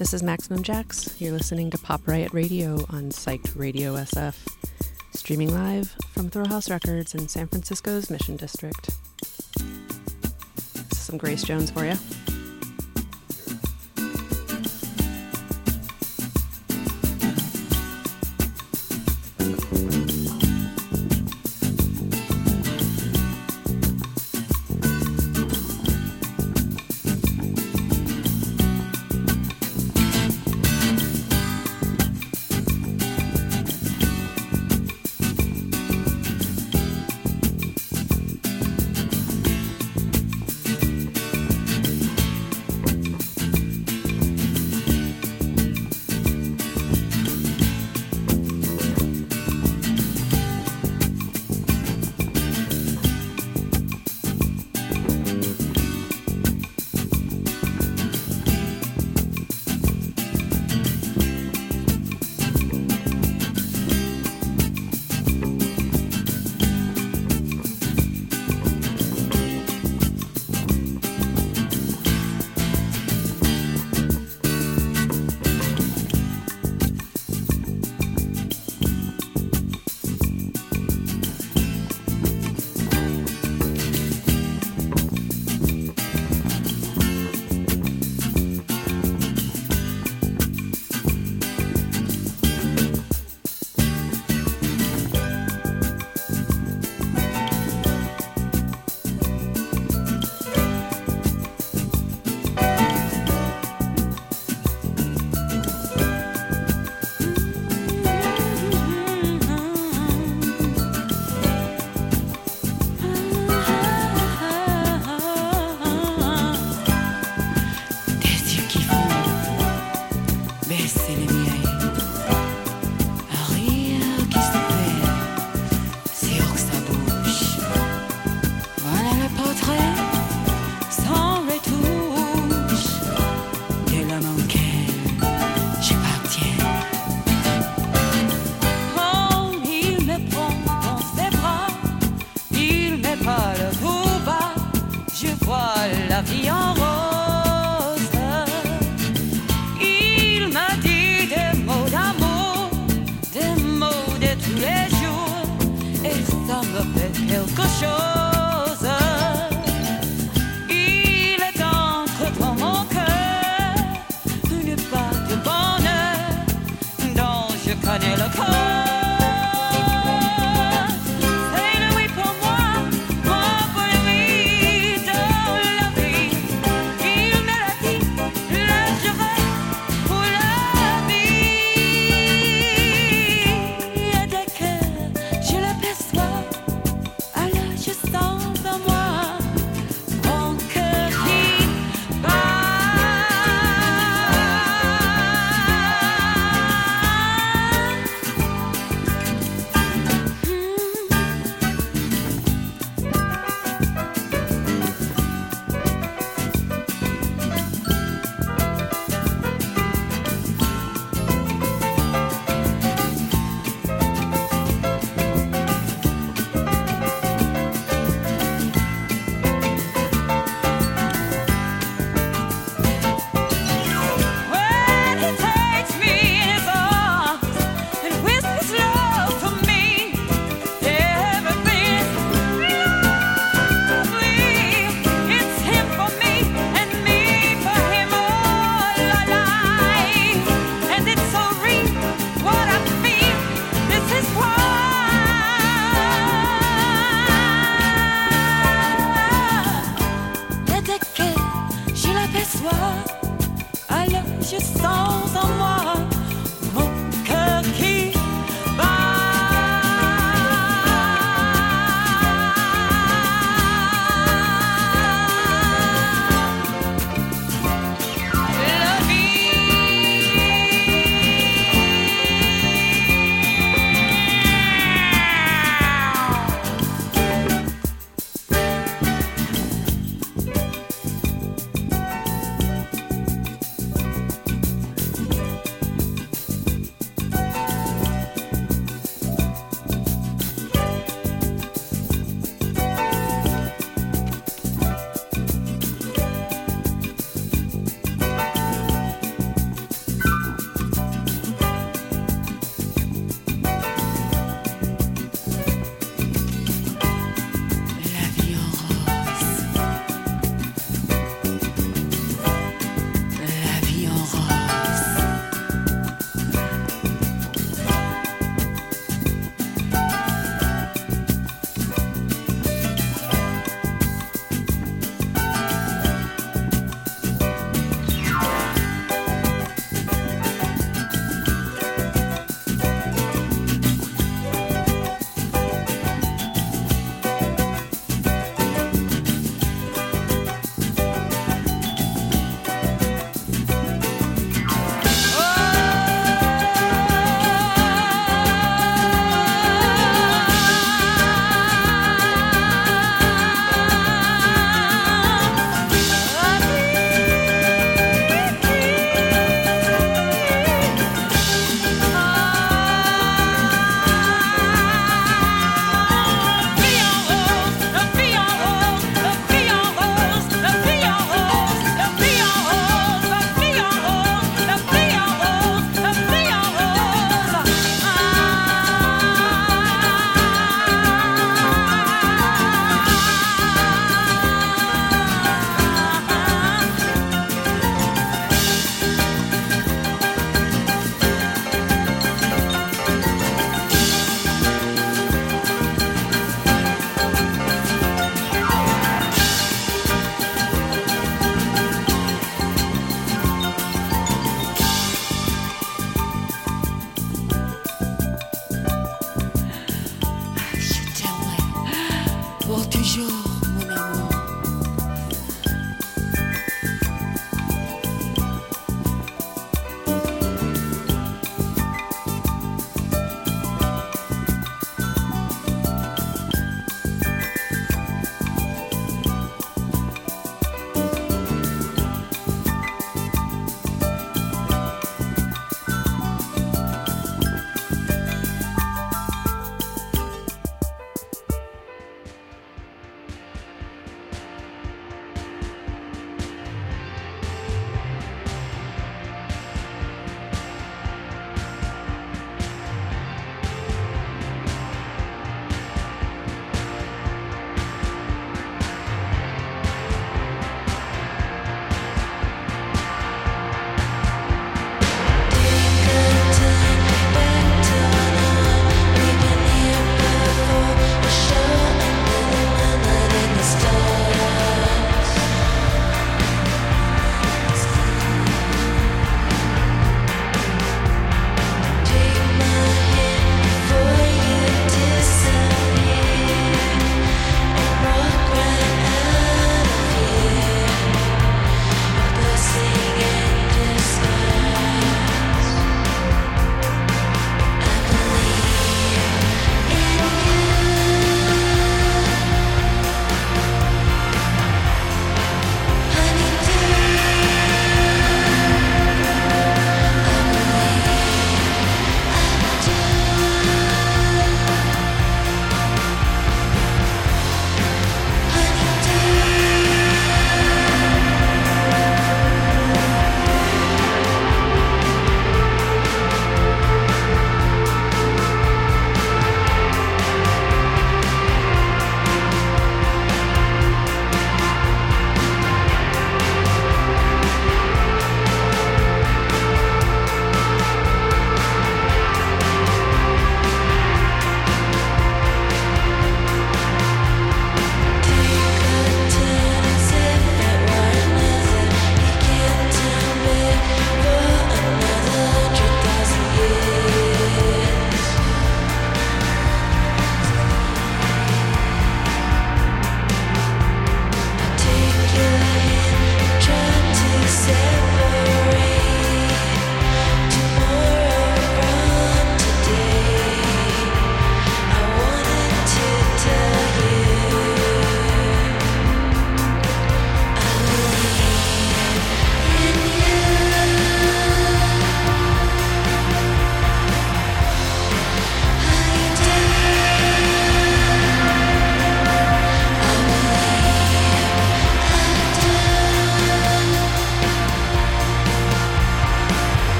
This is Maximum Jax. You're listening to Pop Riot Radio on Psyched Radio SF, streaming live from Throw House Records in San Francisco's Mission District. This is some Grace Jones for you.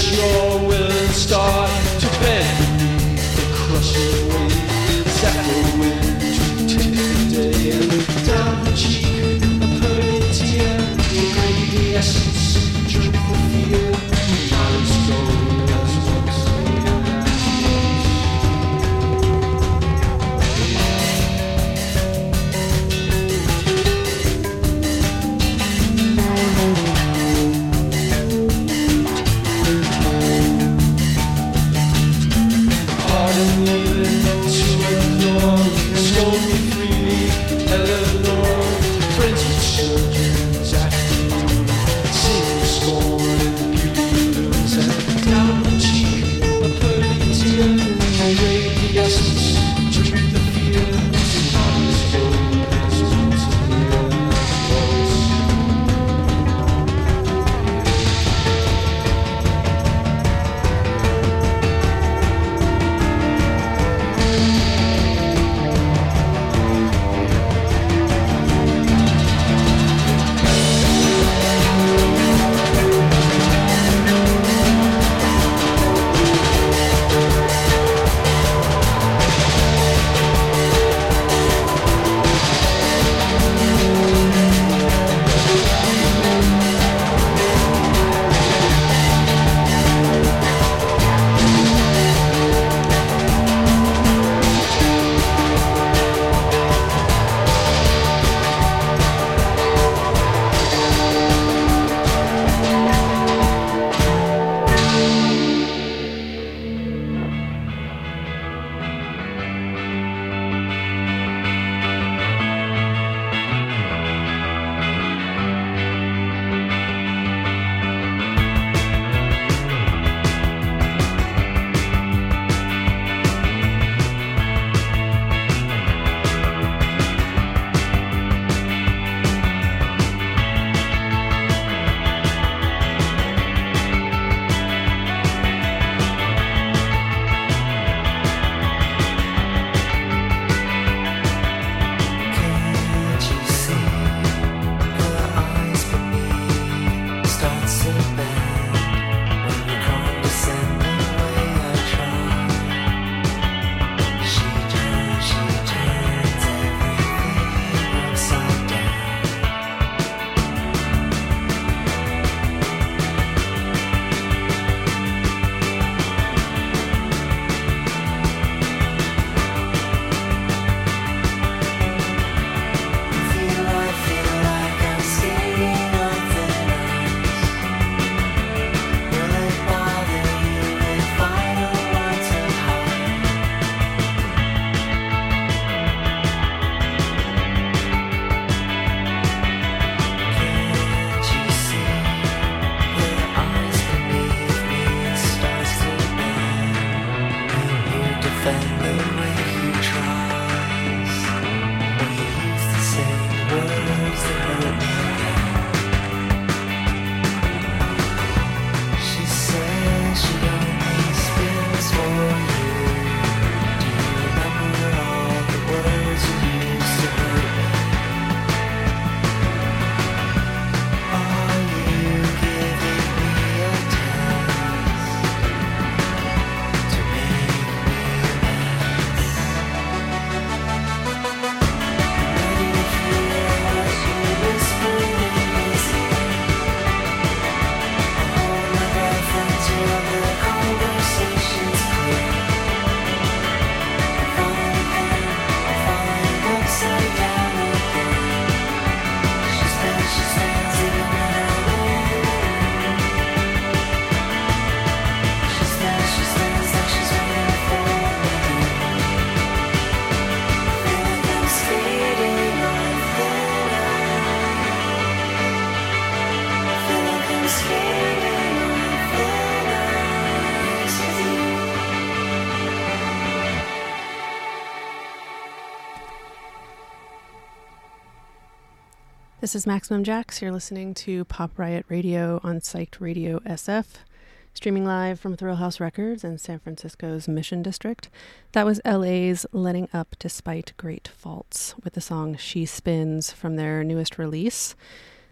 This is Maximum Jax. You're listening to Pop Riot Radio on Psyched Radio SF, streaming live from Thrill House Records in San Francisco's Mission District. That was LA's Letting Up Despite Great Faults with the song She Spins from their newest release.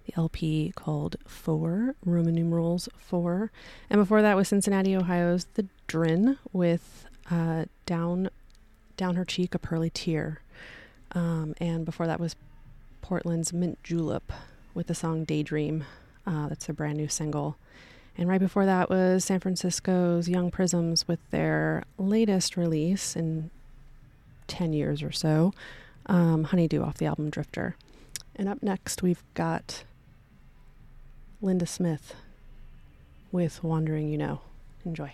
the LP called 4, Roman numerals 4. And before that was Cincinnati, Ohio's The Drin with Down Her Cheek, a Pearly Tear. And before that was Portland's Mint Julep with the song Daydream. That's their brand new single. And right before that was San Francisco's Young Prisms with their latest release in 10 years or so, Honeydew off the album Drifter. And up next we've got Linda Smith with Wandering You Know. Enjoy.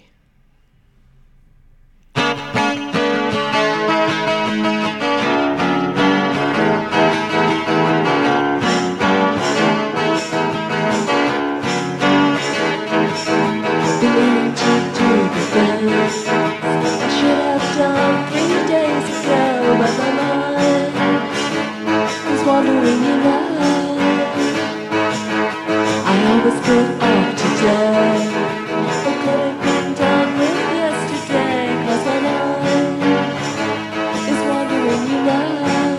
Wandering, you know, I always put off today. I could have been done with yesterday, 'cause my mind is wandering, you know.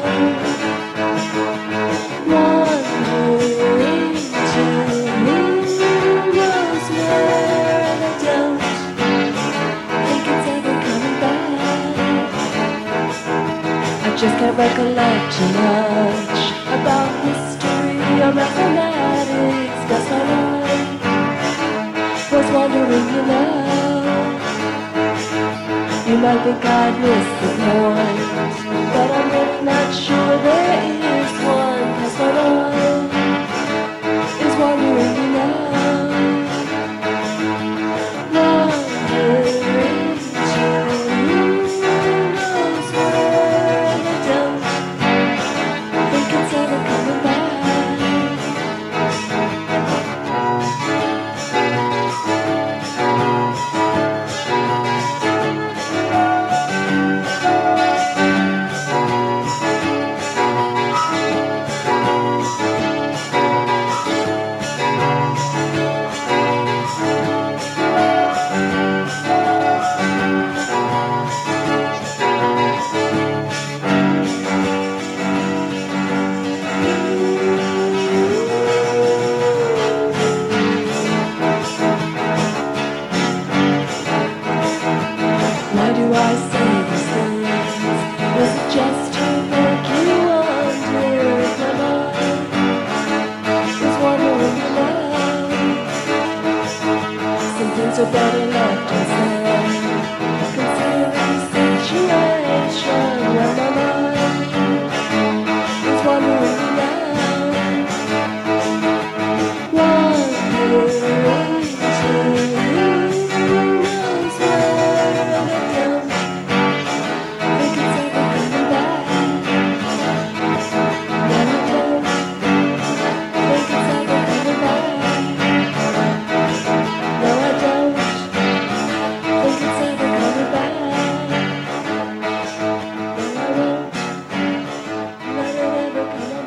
Wandering to who knows where, and I don't think it's ever coming back. I just can't recollect too much about history or mathematics, 'cause my mind was wandering, you know. You might think I'd missed the point, but I'm really not sure there is one, 'cause my mind is wandering, you know. Wandering to who knows where, and I don't think it's ever coming back. Why do I say these things? Was it just to make you wonder if my mind is wandering, you know? Some things are better left unsaid. Consider the situation where my mind is wandering, you know. Wandering to who knows where, and I don't think it's ever coming back. And I don't think it's ever coming back. No, I don't think it's ever coming back. No, I won't let it ever come back.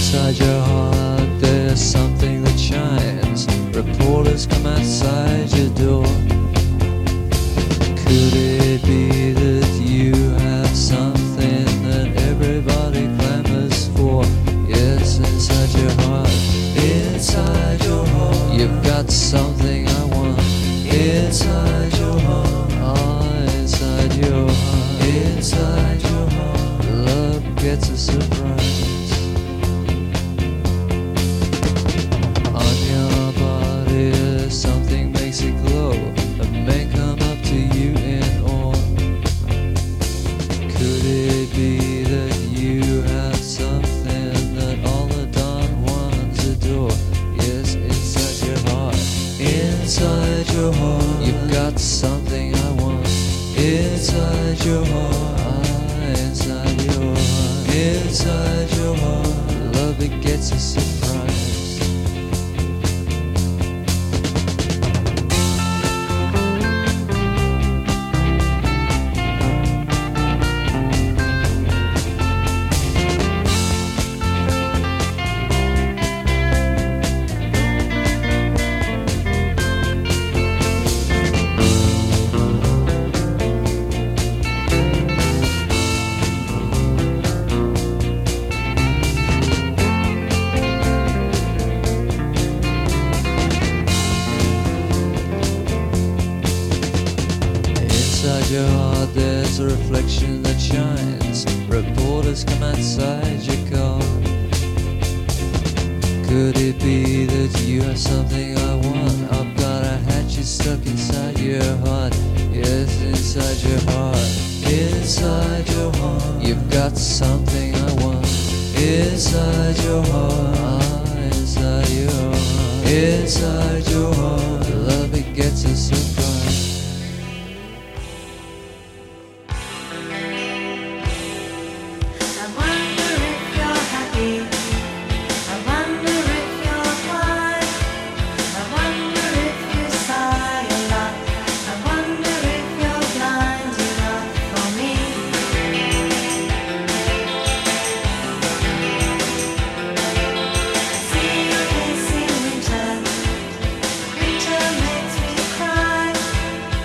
Inside your heart there's something that shines. Reporters come outside your door. Could it be that you have something that everybody clamors for? Yes, inside your heart. Inside your heart, you've got something I want. Inside your heart, oh, inside your heart. Inside your heart, love gets a surprise. On your body, something makes it glow. A man come up to you in awe. Could it be that you have something that all the Don Juans adore? Yes, inside your heart. Inside your heart, you've got something I want. Inside your heart, ah, inside your heart. Inside your heart, love it gets a surprise. Inside your heart there's a reflection that shines. Reporters come outside your car. Could it be that you have something I want? I've got a hatchet stuck inside your heart. Yes, inside your heart. Inside your heart, you've got something I want. Inside your heart, ah, inside your heart. Inside your heart, love it gets a surprise. Winter makes me cry.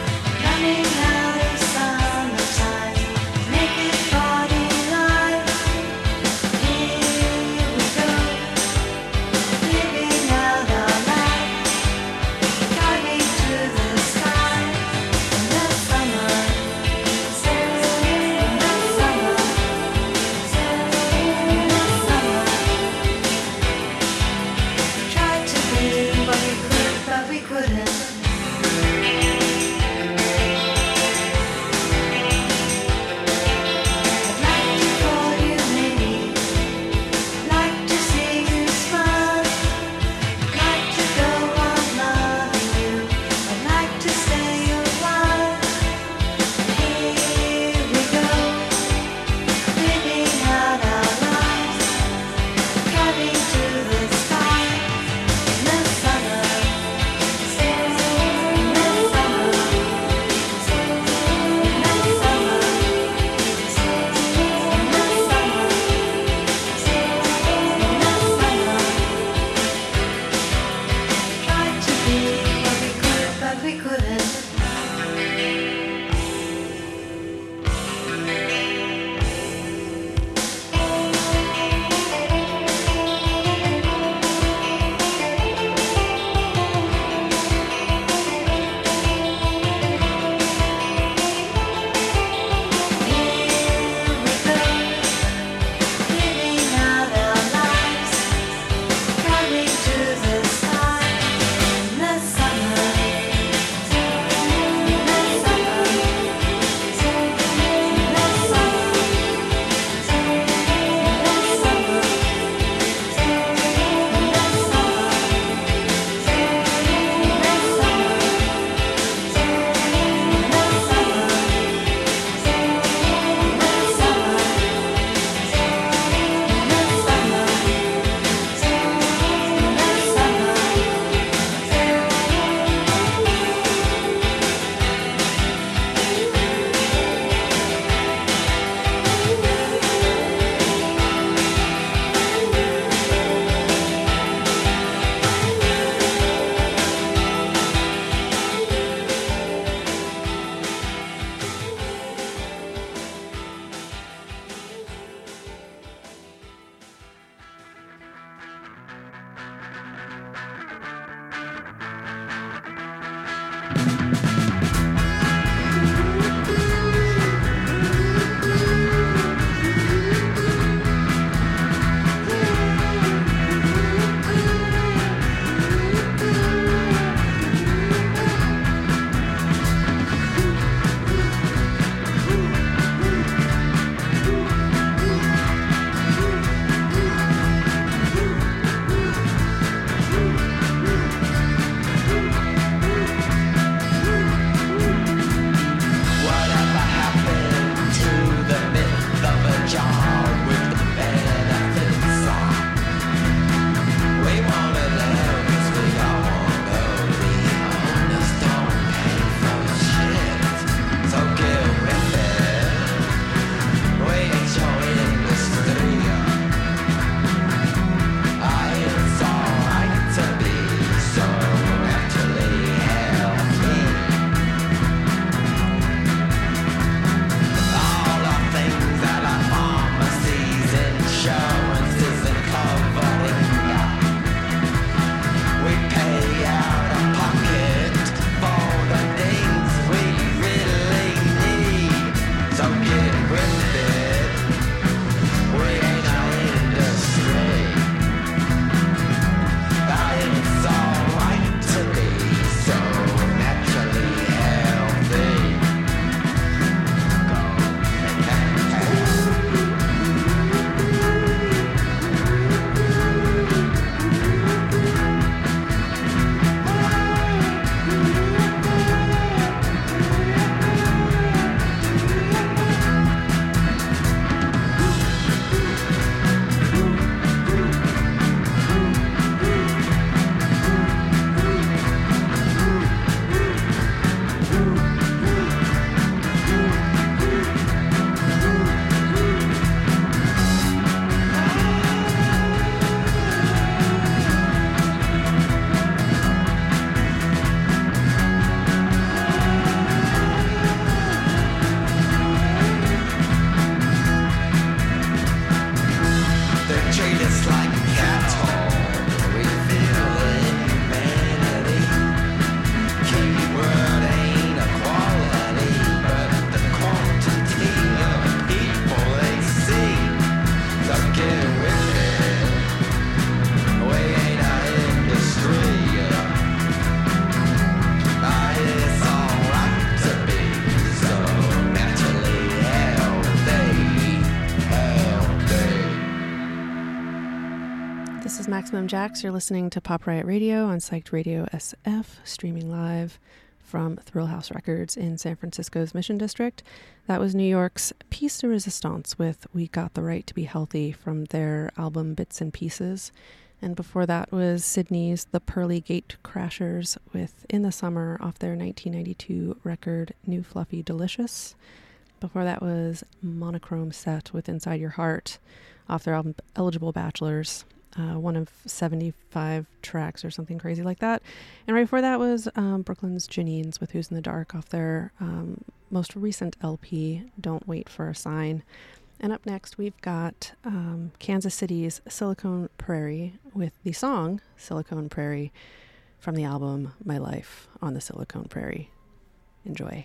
Maximum Jax. You're listening to Pop Riot Radio on Psyched Radio SF, streaming live from Thrill House Records in San Francisco's Mission District. That was New York's Piece de Resistance with We Got the Right to Be Healthy from their album Bits and Pieces. And before that was Sydney's The Pearly Gate Crashers with In the Summer off their 1992 record New Fluffy Delicious. Before that was Monochrome Set with Inside Your Heart off their album Eligible Bachelors. One of 75 tracks or something crazy like that. And right before that was Brooklyn's Janines with Who's in the Dark off their most recent LP, Don't Wait for a Sign. And up next we've got Kansas City's Silicon Prairie with the song Silicon Prairie from the album My Life on the Silicon Prairie. Enjoy.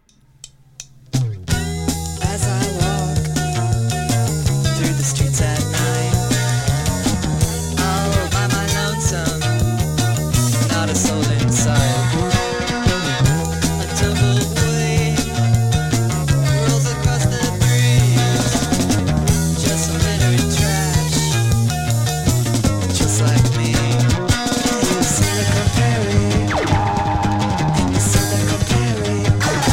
As I walk through the streets at night, all by my lonesome, not a soul in sight. A tumbleweed rolls across the breeze, just some litter trash, just like me. In the Silicon Prairie, in the Silicon Prairie.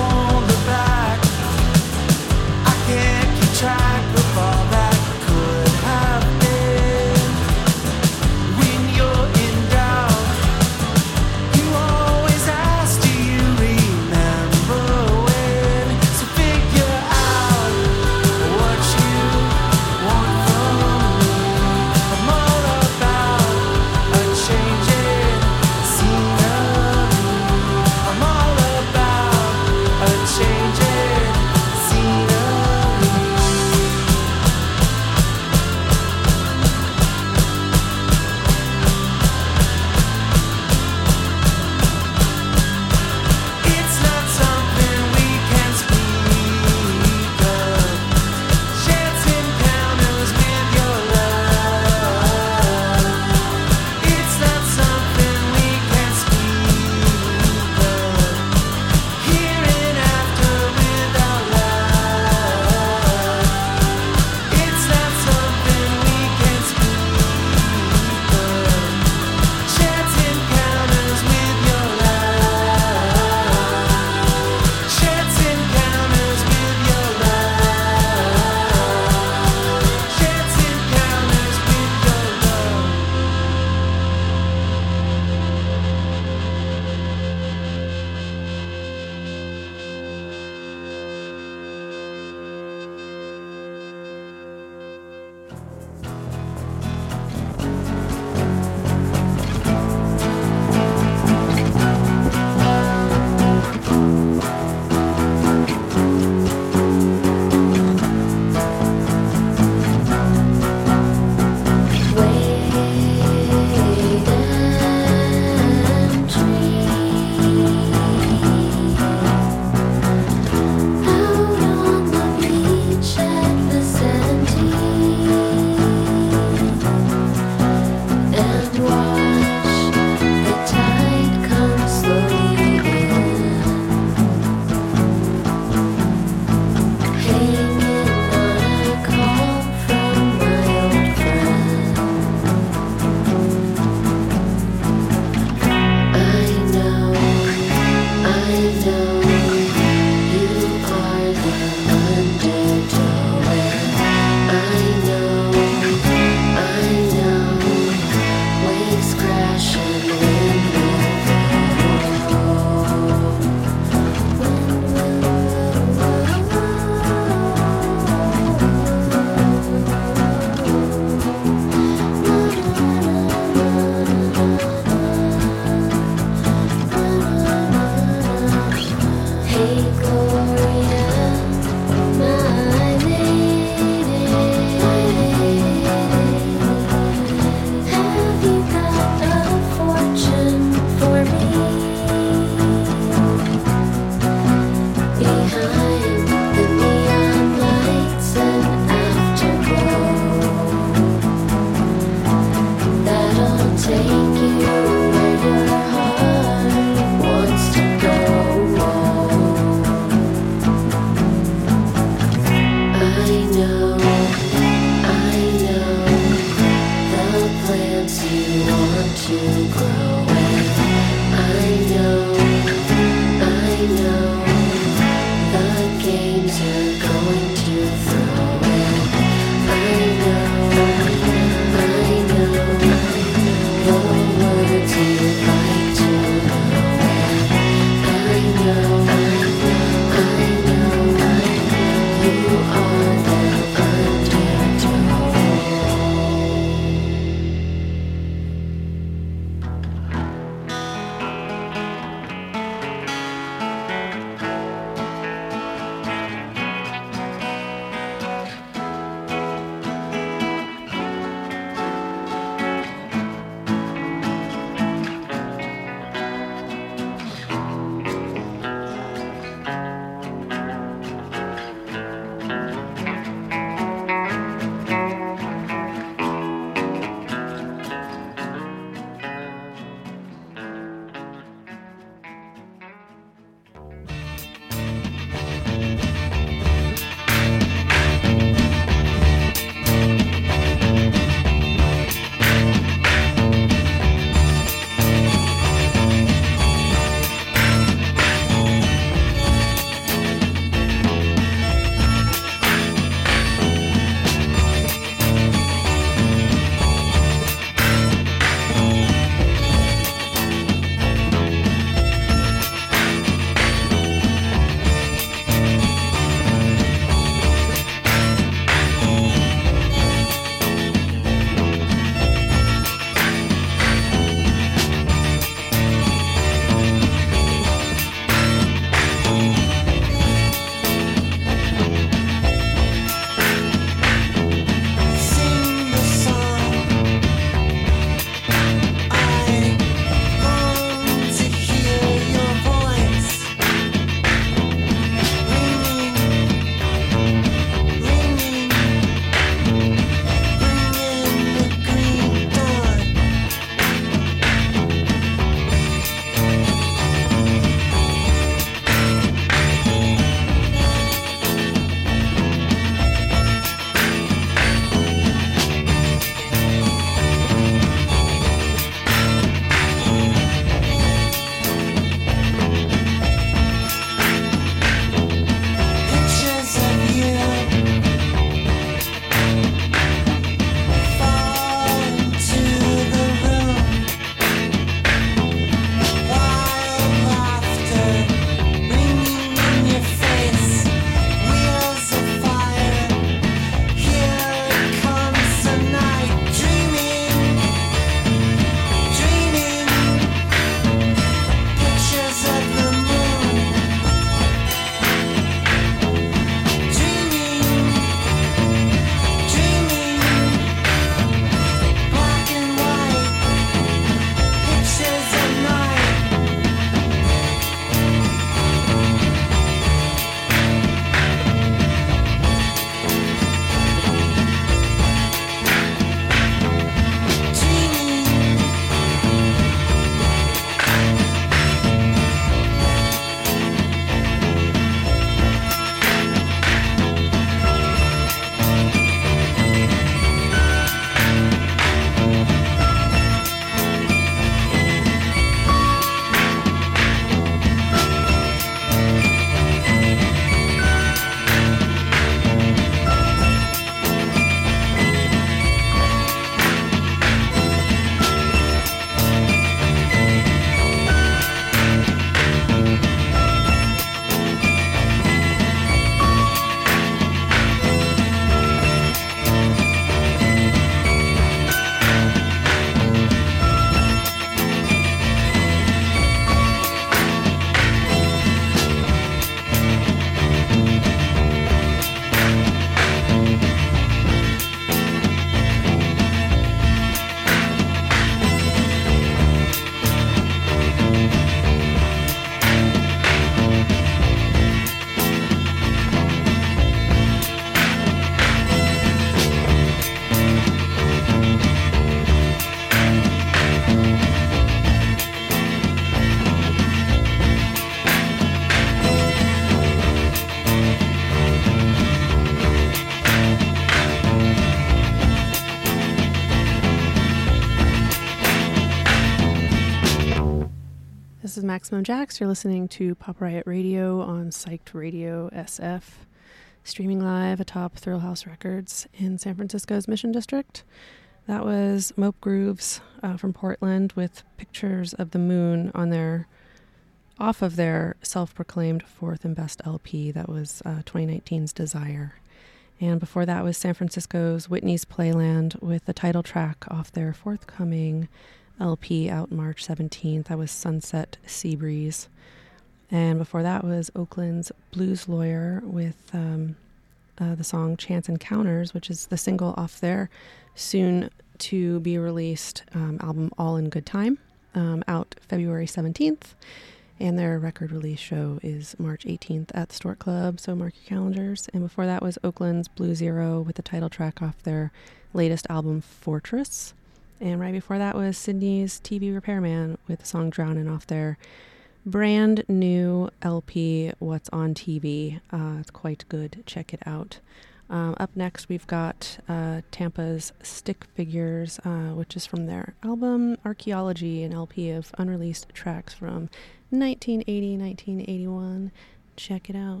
Maximum Jax. You're listening to Pop Riot Radio on Psyched Radio SF, streaming live atop Thrill House Records in San Francisco's Mission District. That was Mope Grooves from Portland with Pictures of the Moon off of their self-proclaimed fourth and best LP. That was 2019's Desire. And before that was San Francisco's Whitney's Playland with the title track off their forthcoming LP out March 17th. That was Sunset Sea Breeze. And before that was Oakland's Blues Lawyer with the song Chance Encounters, which is the single off their soon-to-be-released album All in Good Time, out February 17th. And their record release show is March 18th at the Stork Club, so mark your calendars. And before that was Oakland's Blue Zero with the title track off their latest album Fortress. And right before that was Sydney's TV Repairman with the song Drownin' off their brand new LP, What's on TV. It's quite good. Check it out. Up next, we've got Tampa's Stick Figures, which is from their album Archaeology, an LP of unreleased tracks from 1980-1981. Check it out.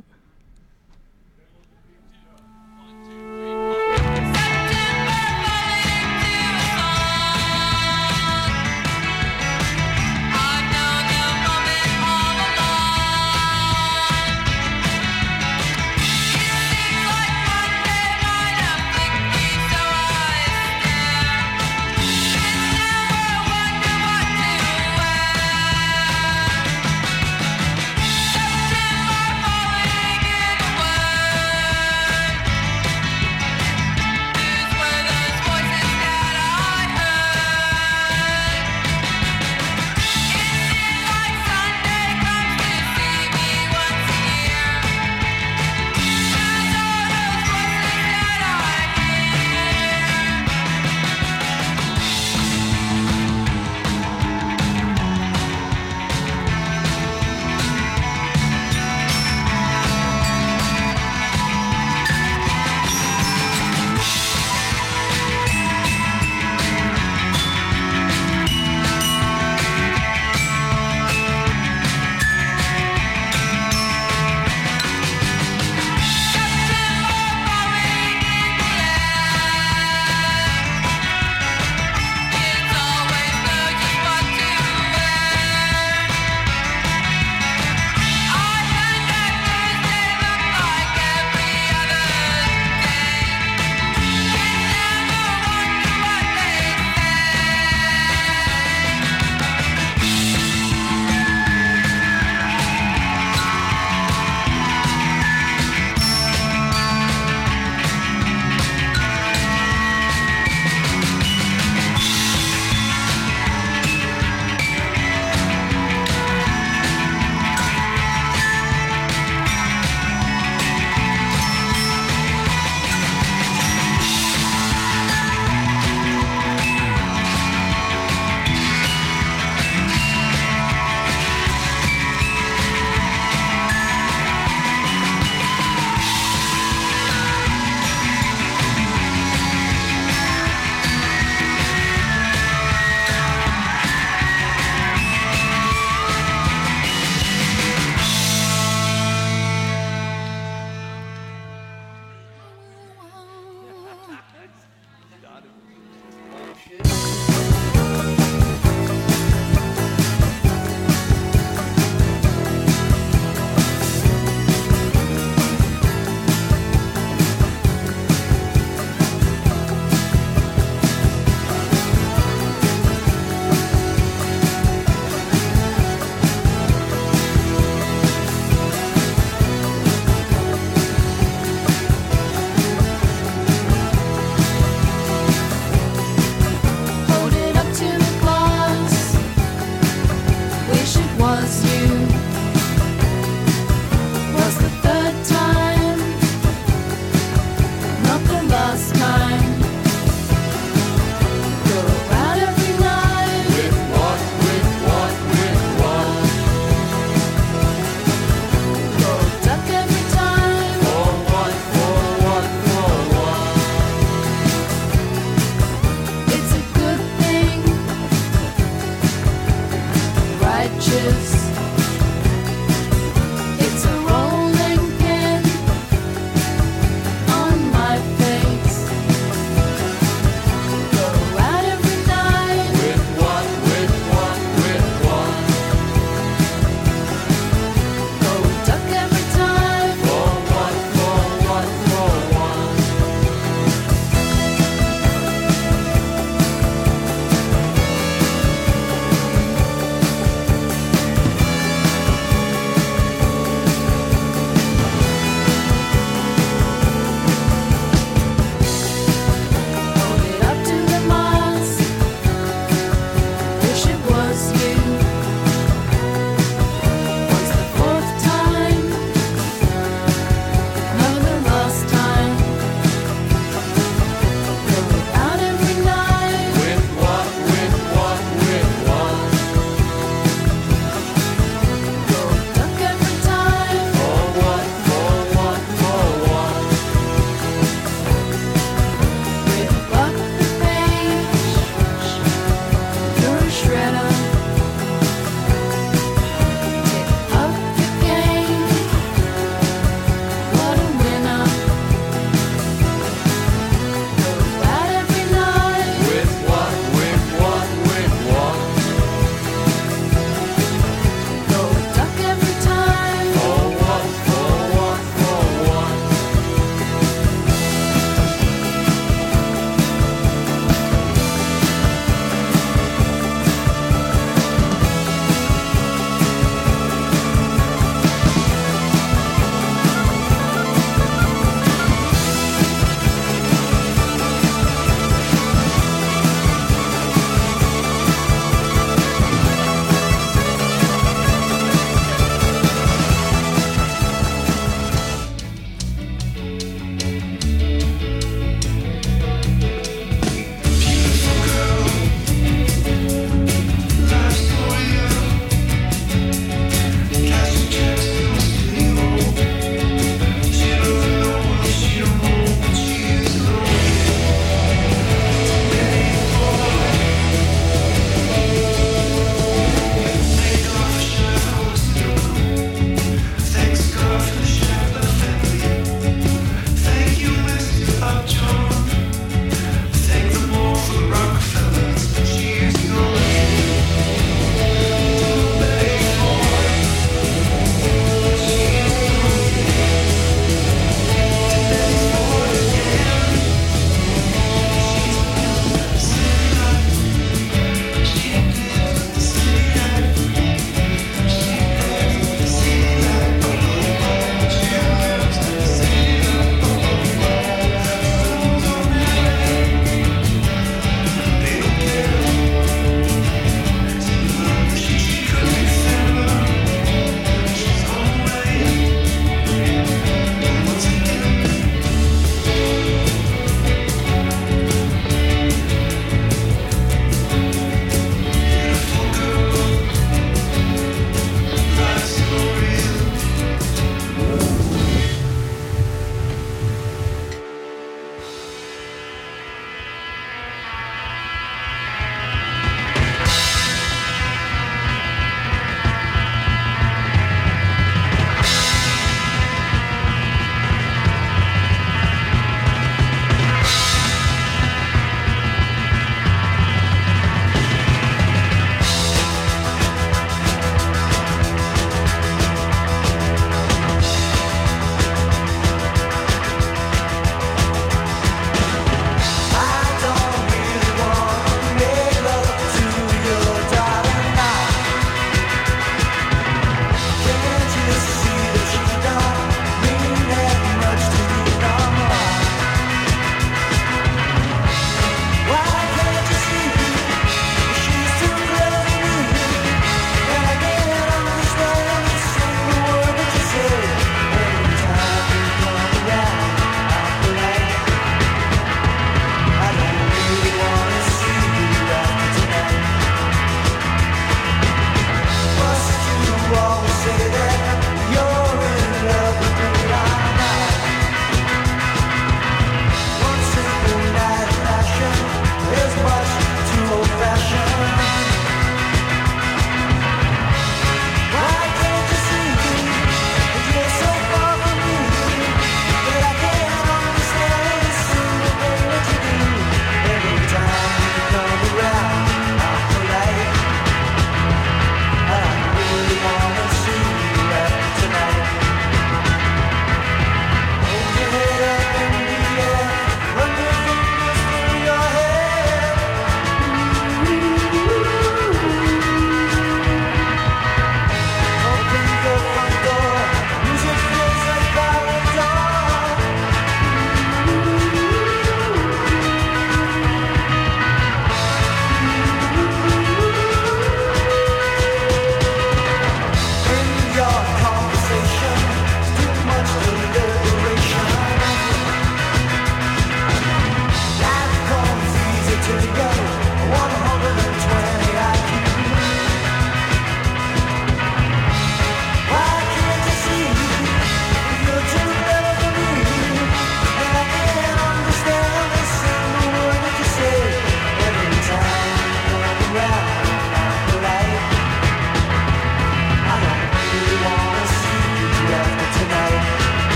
Falling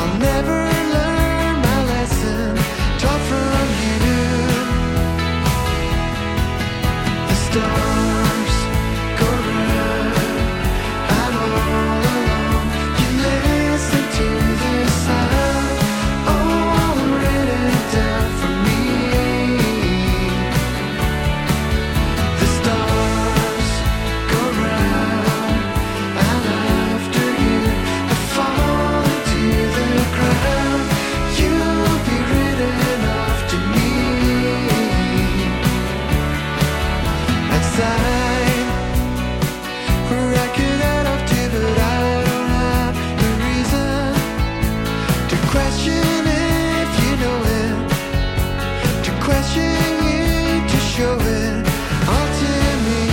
I'll never learn my lesson taught from you. The stars go round, I'm all alone. You listen to this sound, all written down for me. The stars go round, and after you, I fall into the ground. You'll be written off to me. Outside, where I could add up to, but I don't have the reason to question if you know it, to question you, to show it all to me.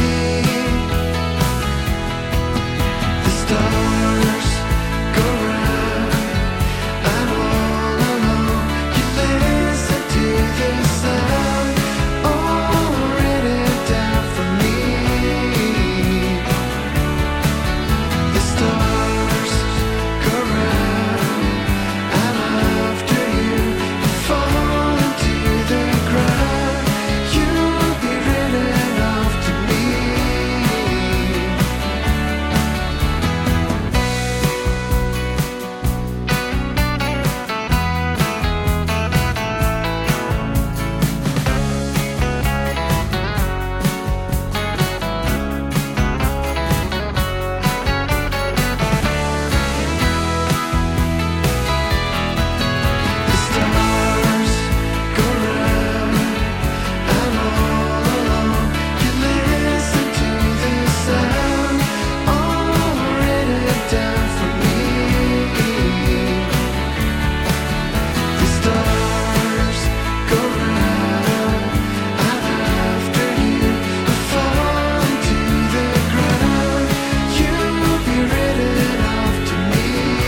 The stars go round, I'm all alone. You listen to the sound, all written down for me. The stars go round, I'm after you. You fall into the ground, you'll be written off to me. The stars go round, I'm all alone. You listen to the sound, all written down for me. The stars go round, I'm after you. I fall into the ground, you'll be written off to me.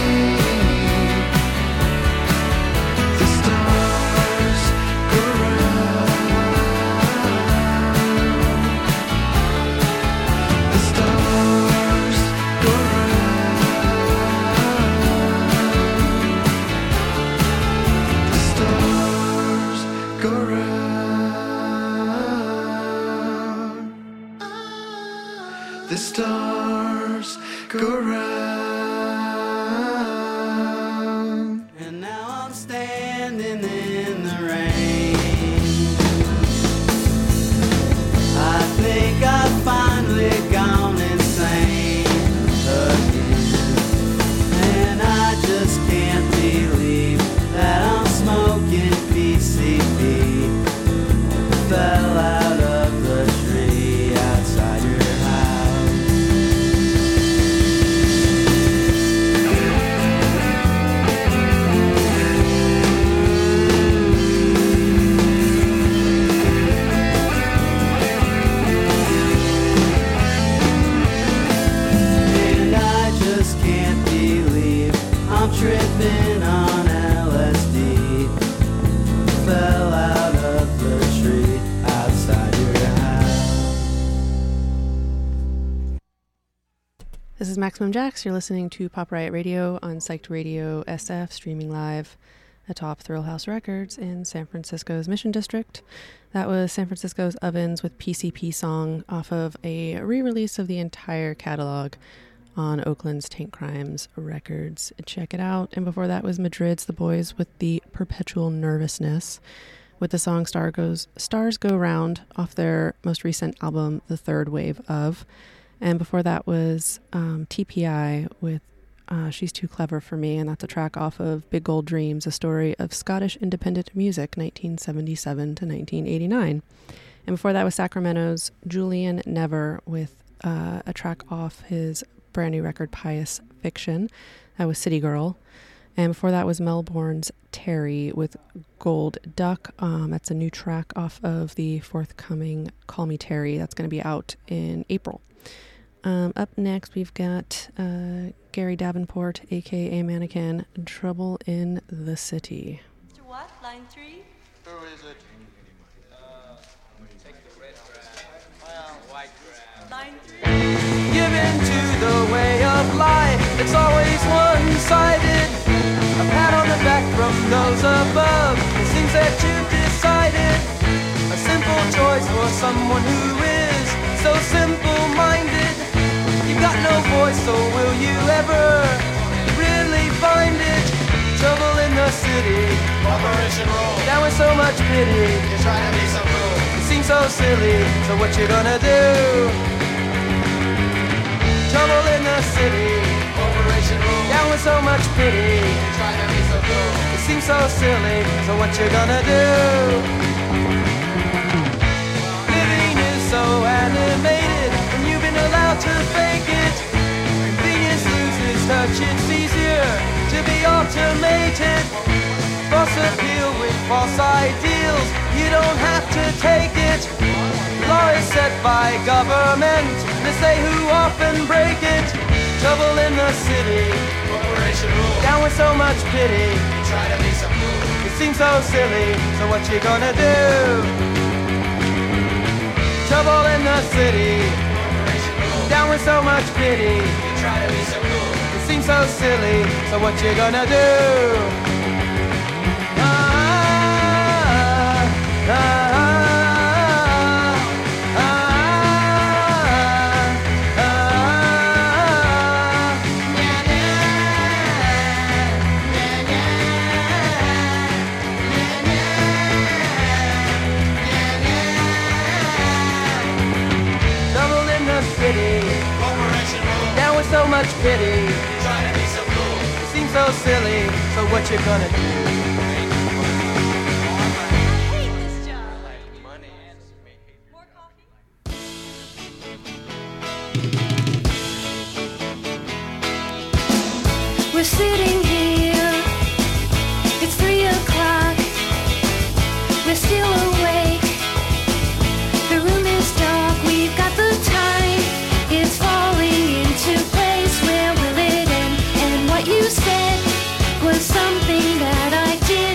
The stars go round. The stars go round. The stars go round. The stars go round. And now I'm standing in the rain. I think I've finally gone insane again. And I just can't believe that I'm smoking PCP. Fell out of the tree outside your house. And I just can't believe I'm tripping on LSD. Fell out of the tree outside your house. This is Maximum Jax. You're listening to Pop Riot Radio on Psyched Radio SF, streaming live atop Thrill House Records in San Francisco's Mission District. That was San Francisco's Ovens with PCP Song off of a re-release of the entire catalog on Oakland's Tank Crimes Records. Check it out. And before that was Madrid's The Boys with the Perpetual Nervousness with the song Stars Go Round off their most recent album, The Third Wave Of. And before that was TPI with She's Too Clever for Me, and that's a track off of Big Gold Dreams, a story of Scottish independent music, 1977 to 1989. And before that was Sacramento's Julian Never with a track off his brand new record, Pious Fiction. That was City Girl. And before that was Melbourne's Terry with Gold Duck. That's a new track off of the forthcoming Call Me Terry. That's going to be out in April. Up next, we've got Gary Davenport, a.k.a. Mannequin, Trouble in the City. Mr. What? Line 3? Who is it? Take the red grass. Well, white grass. Line 3? Give in to the way of life. It's always one-sided. A panel those above. It seems that you've decided a simple choice for someone who is so simple-minded. You've got no voice, so will you ever really find it? Trouble in the city, Operation Roll. down with so much pity. You're trying to be so cool. It seems so silly, so what you gonna do? Trouble in the city, Operation Roll. down with so much pity. You're trying to be so cool. It seems so silly, so what you gonna do? Living is so animated, and you've been allowed to fake it. Convenience loses touch, it's easier to be automated. False appeal with false ideals, you don't have to take it. Law is set by government, they say who often break it. Trouble in the city, Operation Roll. down with so much pity. You're trying to be so cool. It seems so silly, so what you gonna do? Trouble in the city, Operation Roll. down with so much pity. You're trying to be so cool. It seems so silly, so what you gonna do? Ah, ah, ah, ah, ah, Trouble in the city, Operation Roll. down with so much pity. You're trying to be so cool. It seems so silly, so what you gonna do? We're sitting here, it's 3 o'clock, we're still awake, the room is dark, we've got the time, it's falling into place, where will it end? And what you said was something that I did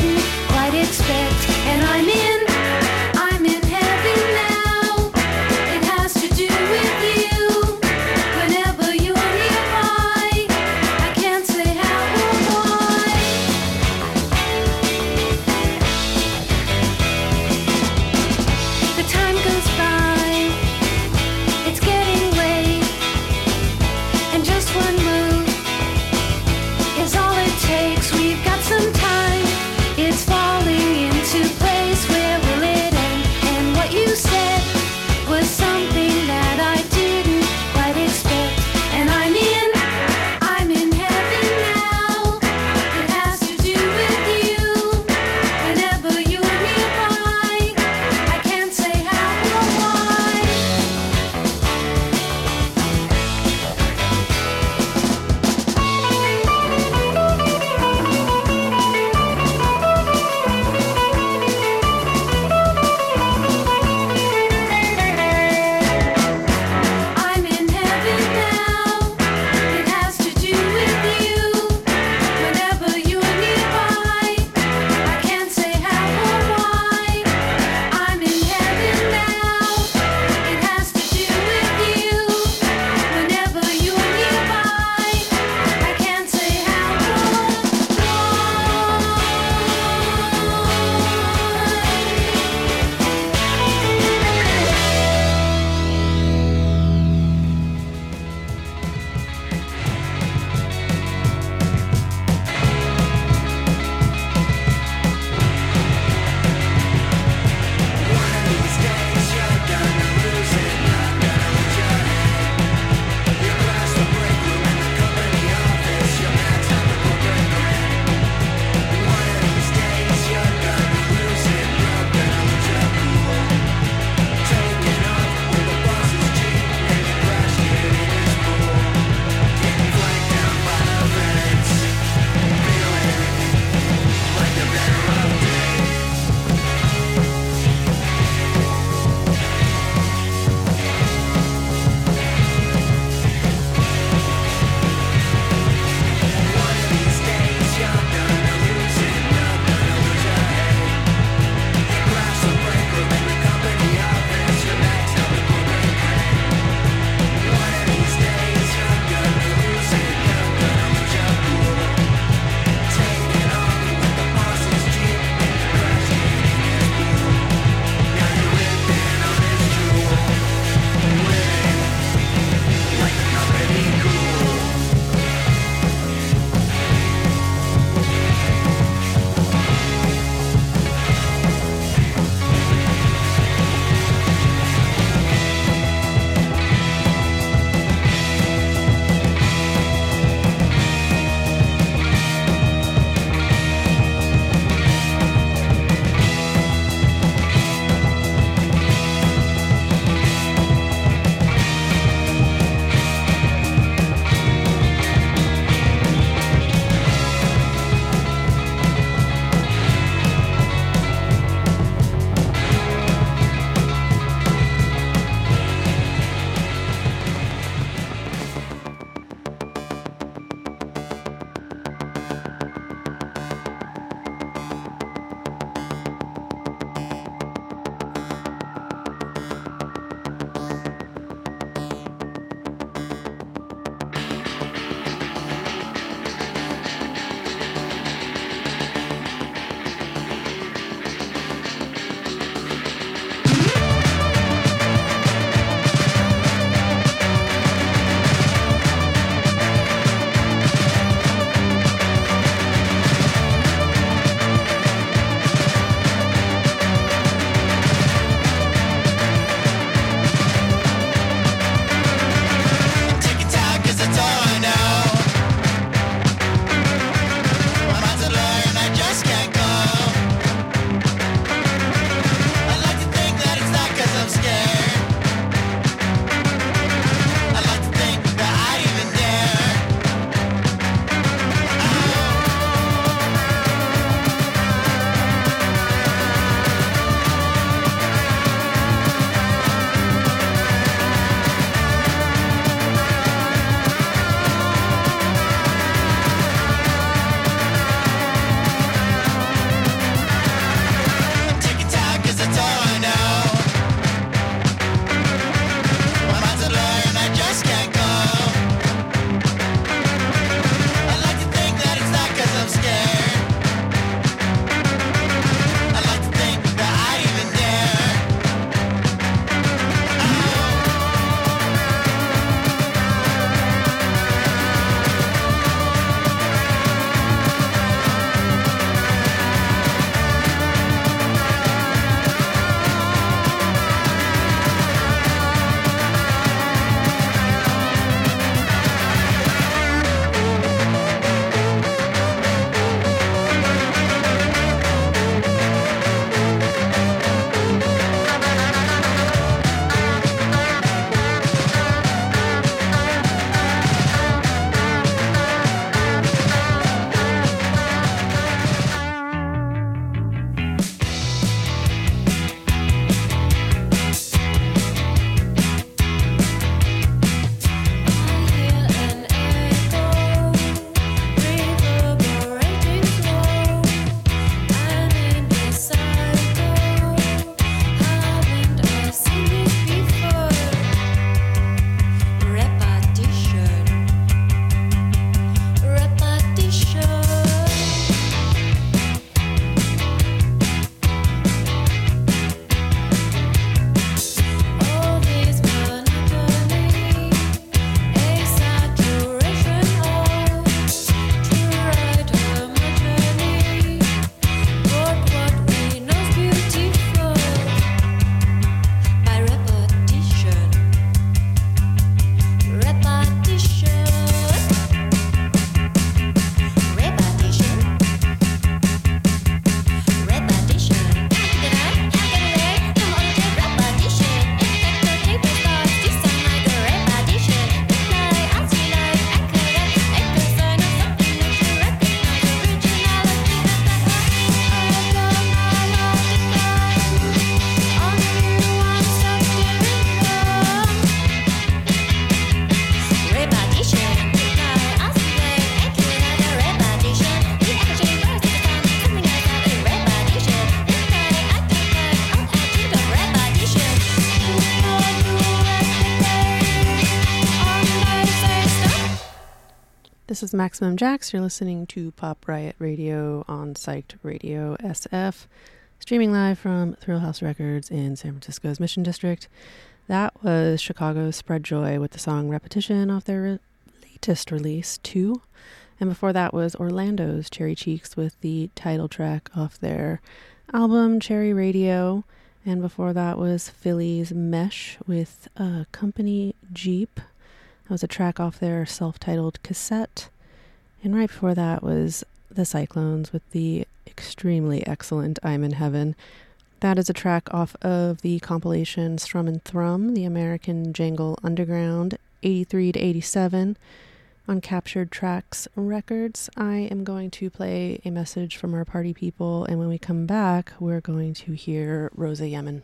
This is Maximum Jax. You're listening to Pop Riot Radio on Psyched Radio SF, streaming live from Thrill House Records in San Francisco's Mission District. That was Chicago's Spread Joy with the song Repetition off their latest release, 2. And before that was Orlando's Cherry Cheeks with the title track off their album Cherry Radio. And before that was Philly's Mesh with Company Jeep. That was a track off their self-titled cassette. And right before that was the Cyclones with the extremely excellent I'm in Heaven. That is a track off of the compilation Strum and Thrum, the American Jangle Underground, 83 to 87, on Captured Tracks Records. I am going to play a message from our party people, and when we come back, we're going to hear Rosa Yemen.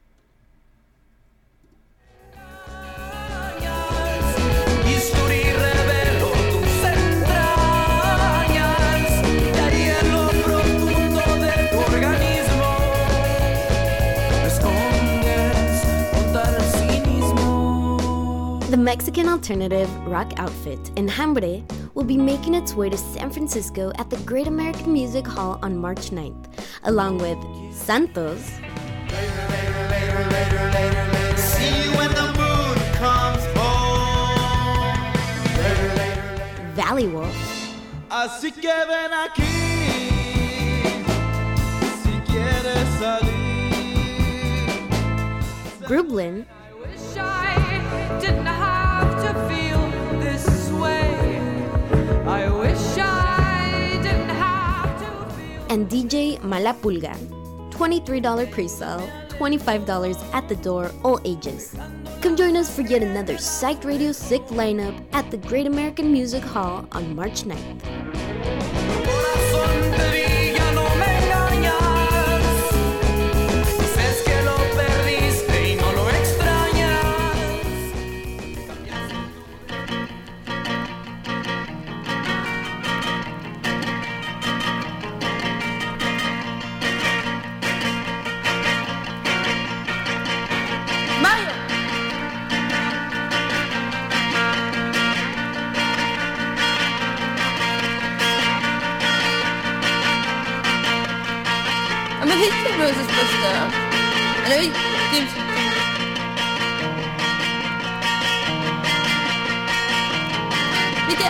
The Mexican alternative rock outfit Enjambre will be making its way to San Francisco at the Great American Music Hall on March 9th, along with Santos, See you when the moon comes home. Valley Wolf, Así que ven aquí, si quieres salir. Grublin, Wish I didn't have to feel this way. I wish I didn't have to feel. and DJ Malapulga. $23 pre-sale, $25 at the door, all ages. Come join us for yet another Psyched Radio Sick lineup at the Great American Music Hall on March 9th. Corazón te vi, ya no me engañas. Dices que lo perdiste y no lo extrañas. Mario! I'm a bit too Rose's sister. I know he gives. Bitte!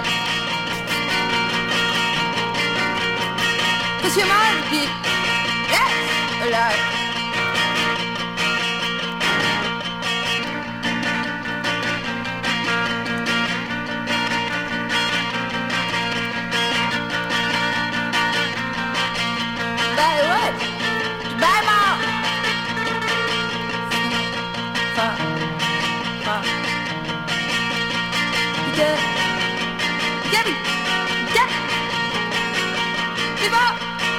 Cause your mind be. Yes! Alive! Bye what? Bye mom! Fa. Bitte! Gabby! Gabby! Gib up!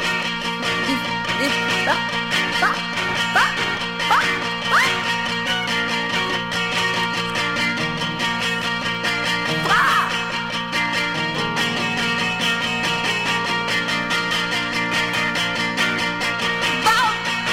Ba! Ba! Ba! Ba! Ba! Ba! Ba!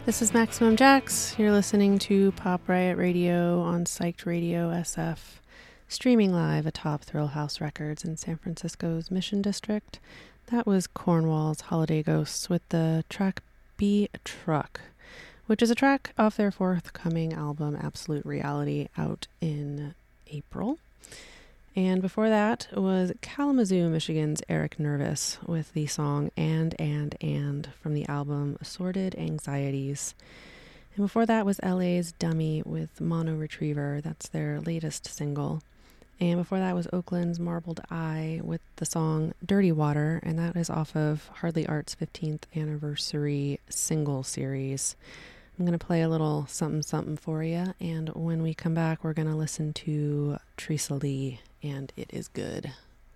This is Maximum Jax. You're listening to Pop Riot Radio on Psyched Radio SF, streaming live atop Thrill House Records in San Francisco's Mission District. That was Cornwall's Holiday Ghosts with the track Be a Truck, which is a track off their forthcoming album Absolute Reality out in April. And before that was Kalamazoo, Michigan's Eric Nervous with the song And from the album Assorted Anxieties. And before that was LA's Dummy with Mono Retriever. That's their latest single. And before that was Oakland's Marbled Eye with the song Dirty Water, and that is off of Hardly Art's 15th anniversary single series. I'm going to play a little something something for you, and when we come back, we're going to listen to Teresa Lee, and it is good.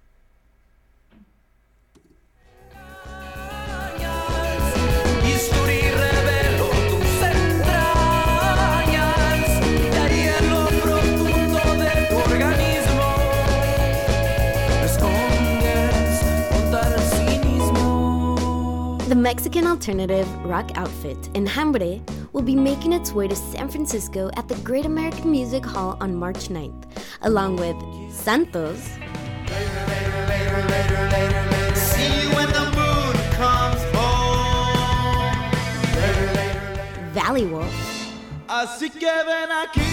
The Mexican alternative rock outfit Enjambre will be making its way to San Francisco at the Great American Music Hall on March 9th, along with Santos, See you when the moon comes home. Valley Wolf, Así que ven aquí,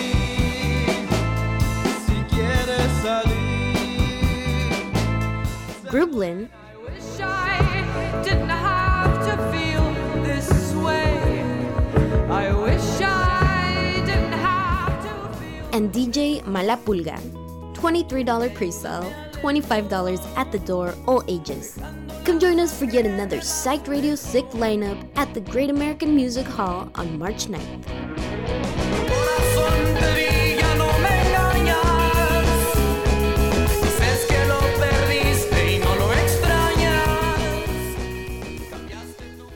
si quieres salir. Grublin, I wish I didn't have to feel this way. I wish I didn't have to feel. and DJ Malapulga. $23 pre-sale, $25 at the door, all ages. Come join us for yet another Psyched Radio Sick lineup at the Great American Music Hall on March 9th. Corazón te vi, ya no me engañas. Dices que lo perdiste y no lo extrañas. Cambiaste tu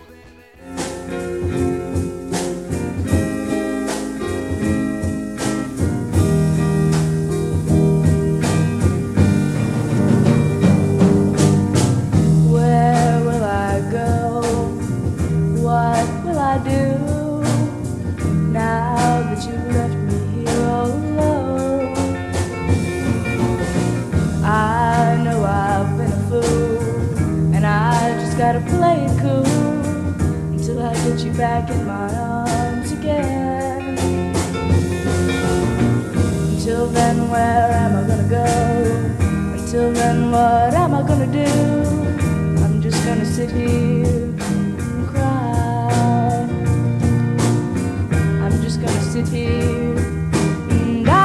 Where will I go? What will I do now that you left me here all alone? I know I've been a fool, and I just gotta play it cool until I get you back in my arms again. Until then, where am I gonna go? Until then, what am I gonna do? I'm just gonna sit here and cry. I'm just gonna sit here and die.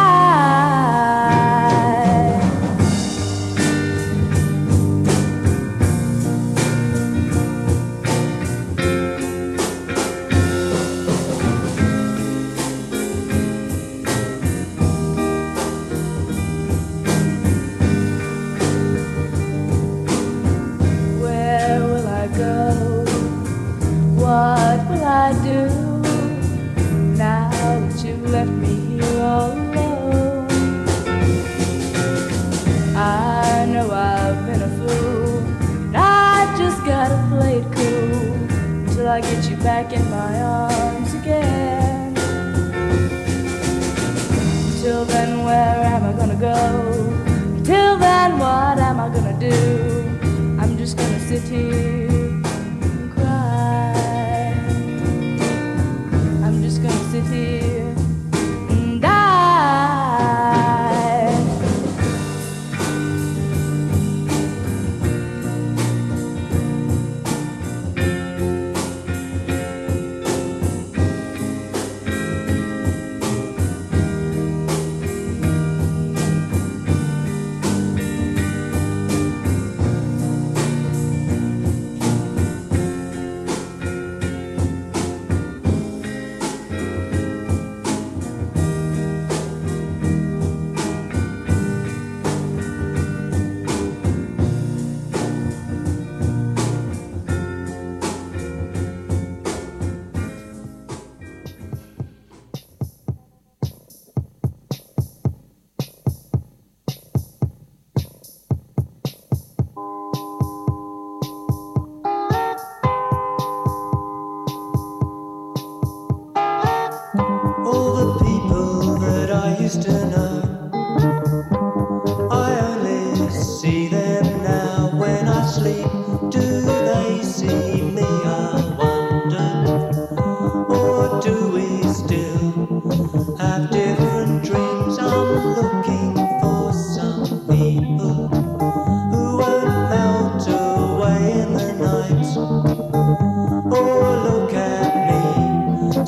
Where will I go? What will I do now that you left me here all alone? I know I've been a fool, and I just gotta play it cool until I get you back in my arms again. Until then, where am I gonna go? Until then, what am I gonna do? I'm just gonna sit here and cry. I'm just gonna sit here and die.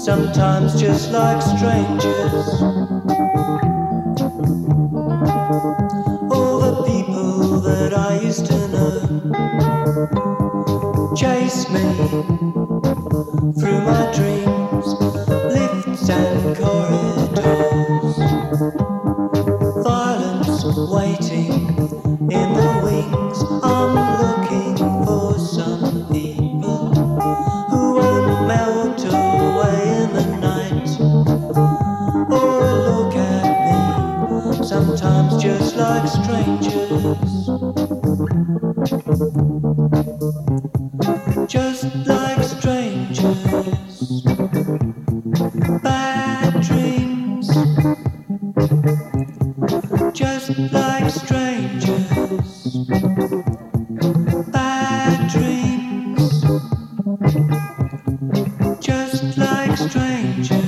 sometimes just like strangers. All the people that I used to know chase me through my dreams, lifts and corridors, violence waiting in the wings. I'm looking for some people who won't melt away in the night. Oh, look at me, sometimes just like strangers, just like strangers. Bad dreams, just like strangers. Bad dreams, just like strangers.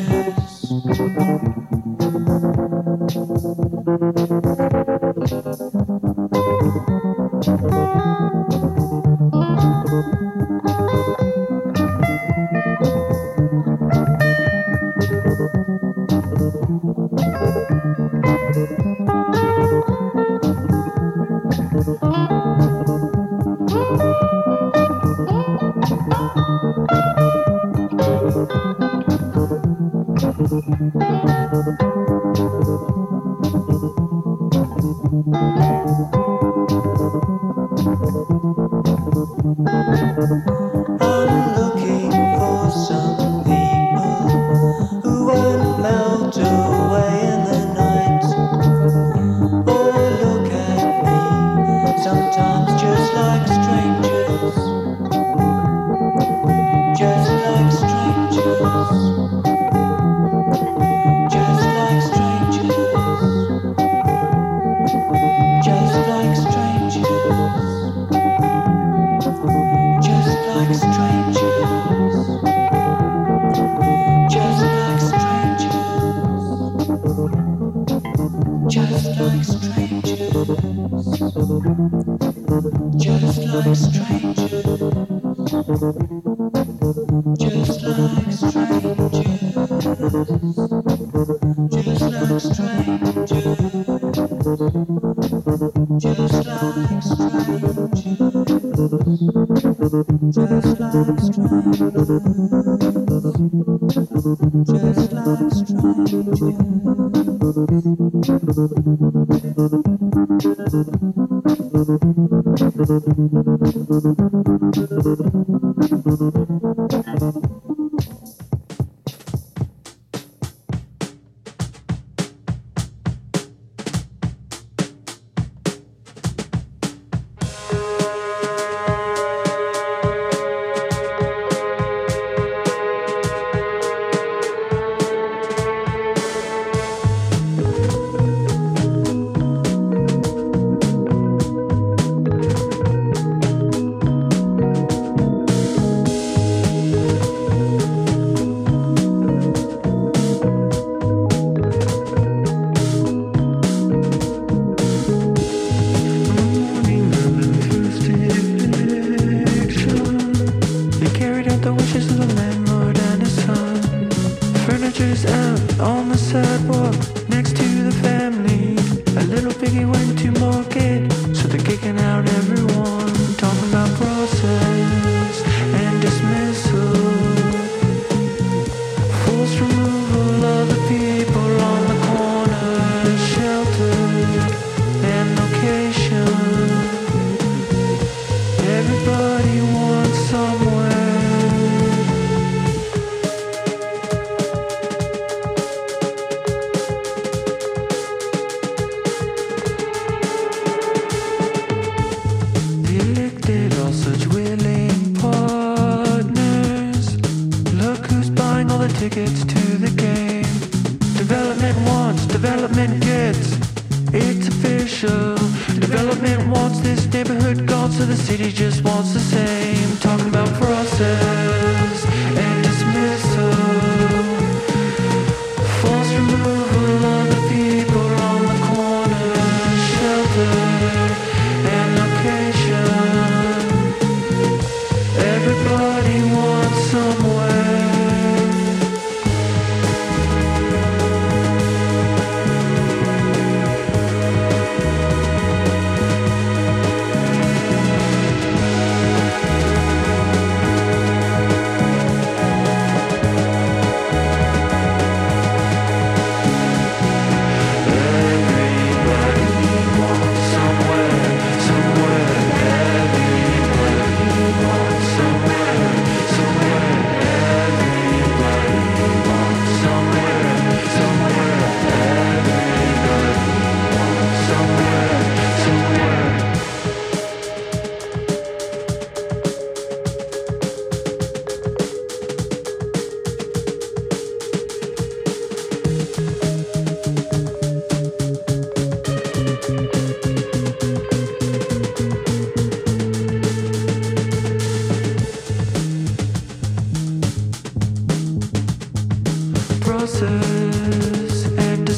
Everybody wants somewhere.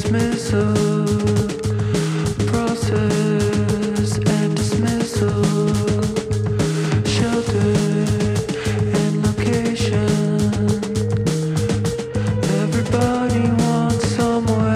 dismissal, process and dismissal, shelter and location. Everybody wants somewhere.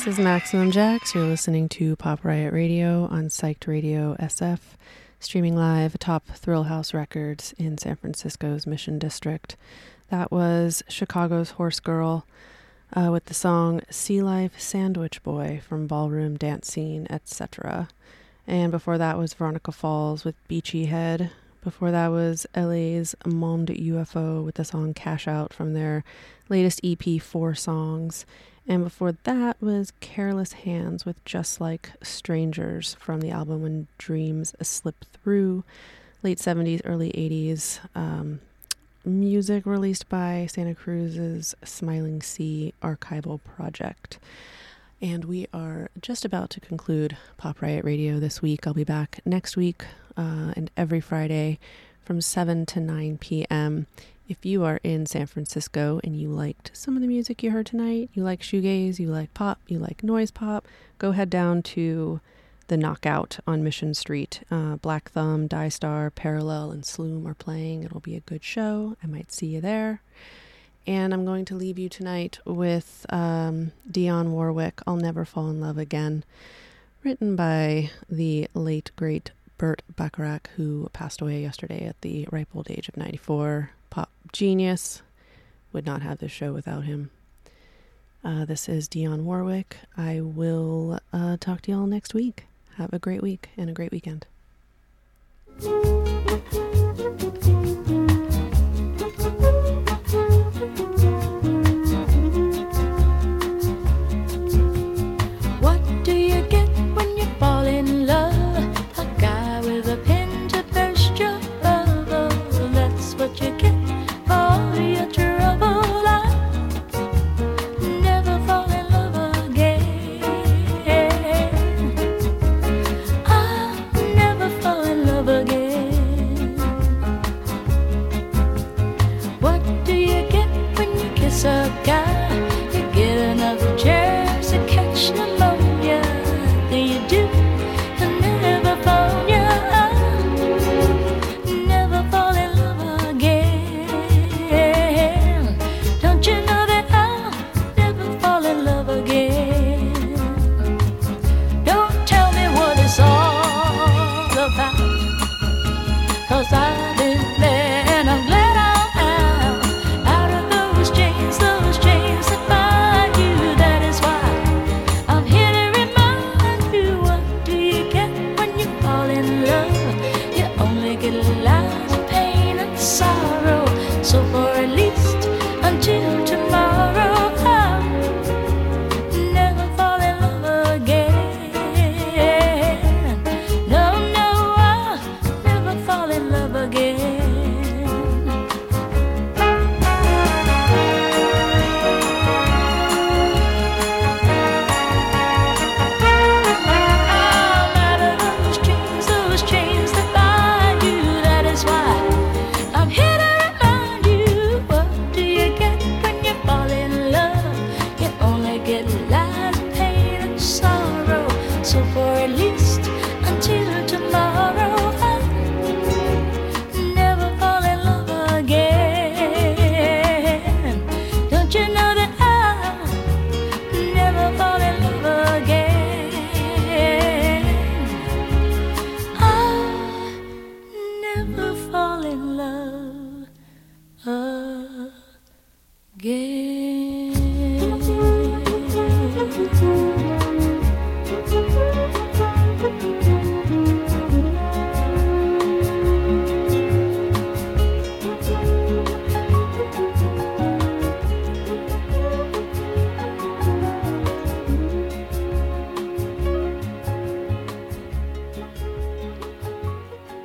This is Maximum Jax. You're listening to Pop Riot Radio on Psyched Radio SF, streaming live atop Thrill House Records in San Francisco's Mission District. That was Chicago's Horse Girl with the song Sea Life Sandwich Boy from Ballroom Dance Scene, etc. And before that was Veronica Falls with Beachy Head. Before that was LA's Monde UFO with the song Cash Out from their latest EP, 4 Songs. And before that was Careless Hands with Just Like Strangers from the album When Dreams Slip Through, late 70s, early 80s. Music released by Santa Cruz's Smiling Sea archival project. And we are just about to conclude Pop Riot Radio this week. I'll be back next week and every Friday from 7 to 9 p.m. If you are in San Francisco and you liked some of the music you heard tonight, you like shoegaze, you like pop, you like noise pop, go head down to the Knockout on Mission Street. Black Thumb, Die Star, Parallel, and Sloom are playing. It'll be a good show. I might see you there. And I'm going to leave you tonight with Dionne Warwick, I'll Never Fall in Love Again, written by the late, great Burt Bacharach, who passed away yesterday at the ripe old age of 94. Pop genius. Would not have this show without him. This is Dionne Warwick. I will talk to y'all next week. Have a great week and a great weekend.